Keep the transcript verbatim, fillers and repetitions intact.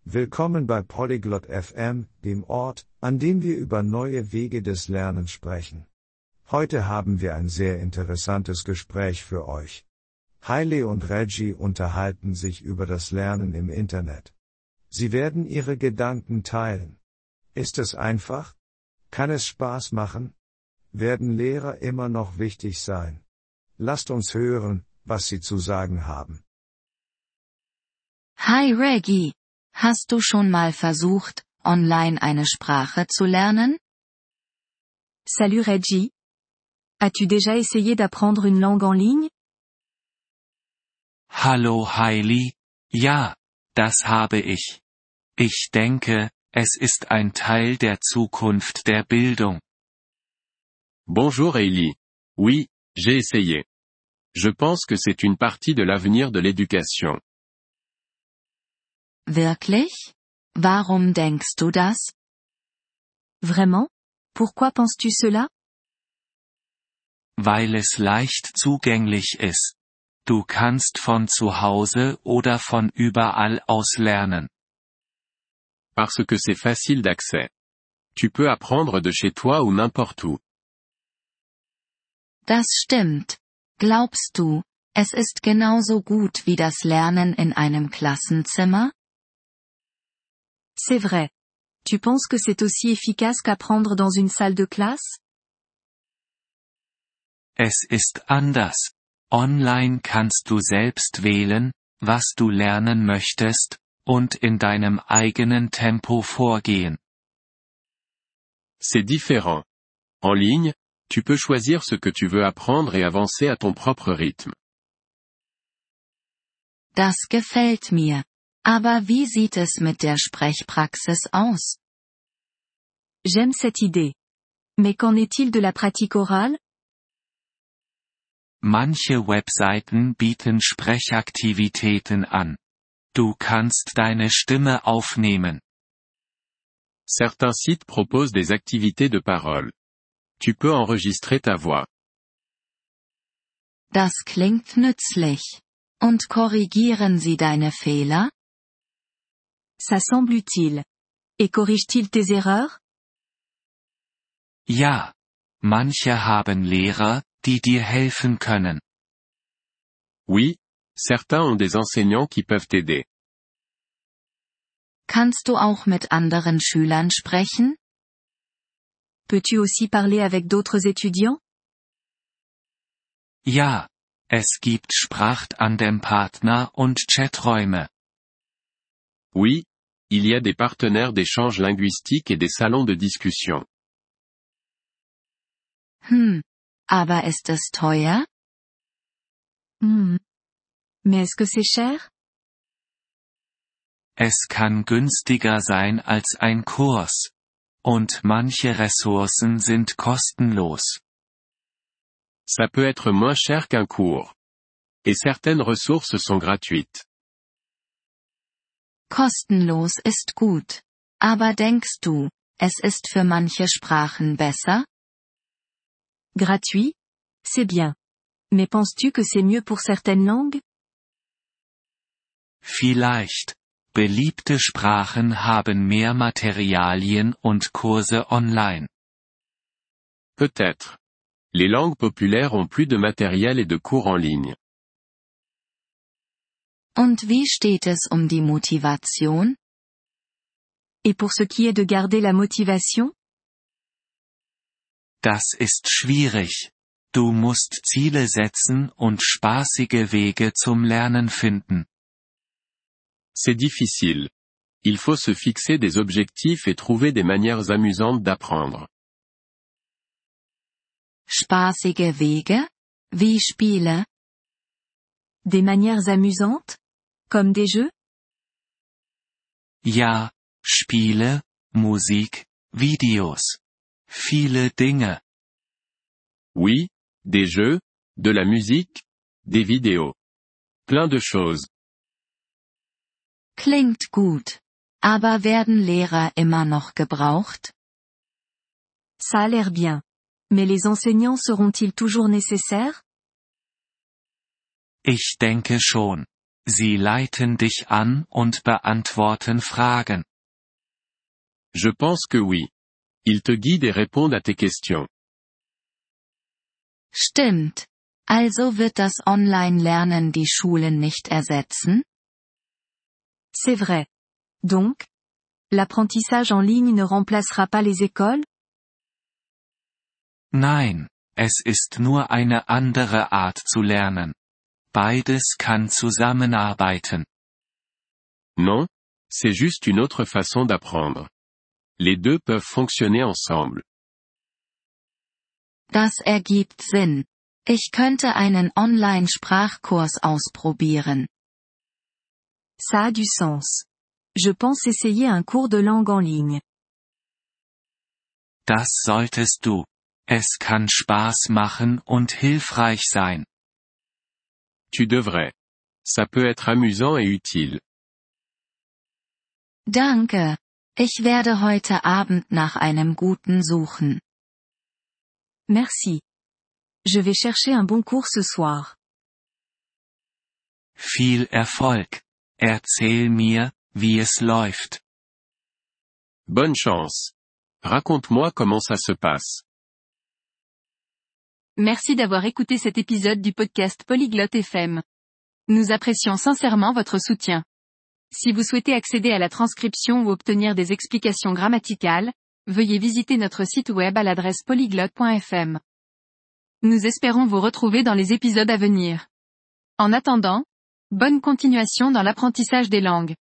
Willkommen bei Polyglot F M, dem Ort, an dem wir über neue Wege des Lernens sprechen. Heute haben wir ein sehr interessantes Gespräch für euch. Hailey und Reggie unterhalten sich über das Lernen im Internet. Sie werden ihre Gedanken teilen. Ist es einfach? Kann es Spaß machen? Werden Lehrer immer noch wichtig sein? Lasst uns hören, was sie zu sagen haben. Hi Reggie, hast du schon mal versucht, online eine Sprache zu lernen? Salut Reggie. As-tu déjà essayé d'apprendre une langue en ligne? Hallo Hailey, ja, das habe ich. Ich denke, es ist ein Teil der Zukunft der Bildung. Bonjour Hailey. Oui, j'ai essayé. Je pense que c'est une partie de l'avenir de l'éducation. Wirklich? Warum denkst du das? Vraiment? Pourquoi penses-tu cela? Weil es leicht zugänglich ist. Du kannst von zu Hause oder von überall aus lernen. Parce que c'est facile d'accès. Tu peux apprendre de chez toi ou n'importe où. Das stimmt. Glaubst du, es ist genauso gut wie das Lernen in einem Klassenzimmer? C'est vrai. Tu penses que c'est aussi efficace qu'apprendre dans une salle de classe? Es ist anders. Online kannst du selbst wählen, was du lernen möchtest, und in deinem eigenen Tempo vorgehen. C'est différent. En ligne, tu peux choisir ce que tu veux apprendre et avancer à ton propre rythme. Das gefällt mir. Aber wie sieht es mit der Sprechpraxis aus? J'aime cette idée. Mais qu'en est-il de la pratique orale? Manche Webseiten bieten Sprechaktivitäten an. Du kannst deine Stimme aufnehmen. Certains sites proposent des activités de parole. Tu peux enregistrer ta voix. Das klingt nützlich. Und korrigieren sie deine Fehler? Ça semble utile. Et corrige-t-il tes erreurs? Ja. Manche haben Lehrer, die dir helfen können. Oui, certains ont des enseignants qui peuvent t'aider. Kannst du auch mit anderen Schülern sprechen? Peux-tu aussi parler avec d'autres étudiants? Ja. Es gibt Sprachtandem-Partner und Chaträume. Oui, il y a des partenaires d'échange linguistique et des salons de discussion. Hm. Aber ist es teuer? Hmm. Mais est-ce que c'est cher? Es kann günstiger sein als ein Kurs. Und manche Ressourcen sind kostenlos. Ça peut être moins cher qu'un cours. Et certaines ressources sont gratuites. Kostenlos ist gut. Aber denkst du, es ist für manche Sprachen besser? Gratuit? C'est bien. Mais penses-tu que c'est mieux pour certaines langues? Vielleicht. Beliebte Sprachen haben mehr Materialien und Kurse online. Peut-être. Les langues populaires ont plus de matériel et de cours en ligne. Und wie steht es um die Motivation? Et pour ce qui est de garder la motivation? Das ist schwierig. Du musst Ziele setzen und spaßige Wege zum Lernen finden. C'est difficile. Il faut se fixer des objectifs et trouver des manières amusantes d'apprendre. Spaßige Wege? Wie Spiele? Des manières amusantes? Comme des jeux? Ja, Spiele, Musik, Videos. Viele Dinge. Oui, des jeux, de la musique, des vidéos. Plein de choses. Klingt gut. Aber werden Lehrer immer noch gebraucht? Ça a l'air bien. Mais les enseignants seront-ils toujours nécessaires? Ich denke schon. Sie leiten dich an und beantworten Fragen. Je pense que oui. Ils te guident et répondent à tes questions. Stimmt. Also wird das Online-Lernen die Schulen nicht ersetzen? C'est vrai. Donc, l'apprentissage en ligne ne remplacera pas les écoles? Nein, es ist nur eine andere Art zu lernen. Beides kann zusammenarbeiten. Non, c'est juste une autre façon d'apprendre. Les deux peuvent fonctionner ensemble. Das ergibt Sinn. Ich könnte einen Online-Sprachkurs ausprobieren. Ça a du sens. Je pense essayer un cours de langue en ligne. Das solltest du. Es kann Spaß machen und hilfreich sein. Tu devrais. Ça peut être amusant et utile. Danke. Ich werde heute Abend nach einem guten suchen. Merci. Je vais chercher un bon cours ce soir. Viel Erfolg. Erzähl mir, wie es läuft. Bonne chance. Raconte-moi comment ça se passe. Merci d'avoir écouté cet épisode du podcast Polyglotte F M. Nous apprécions sincèrement votre soutien. Si vous souhaitez accéder à la transcription ou obtenir des explications grammaticales, veuillez visiter notre site web à l'adresse polyglotte point f m. Nous espérons vous retrouver dans les épisodes à venir. En attendant, bonne continuation dans l'apprentissage des langues.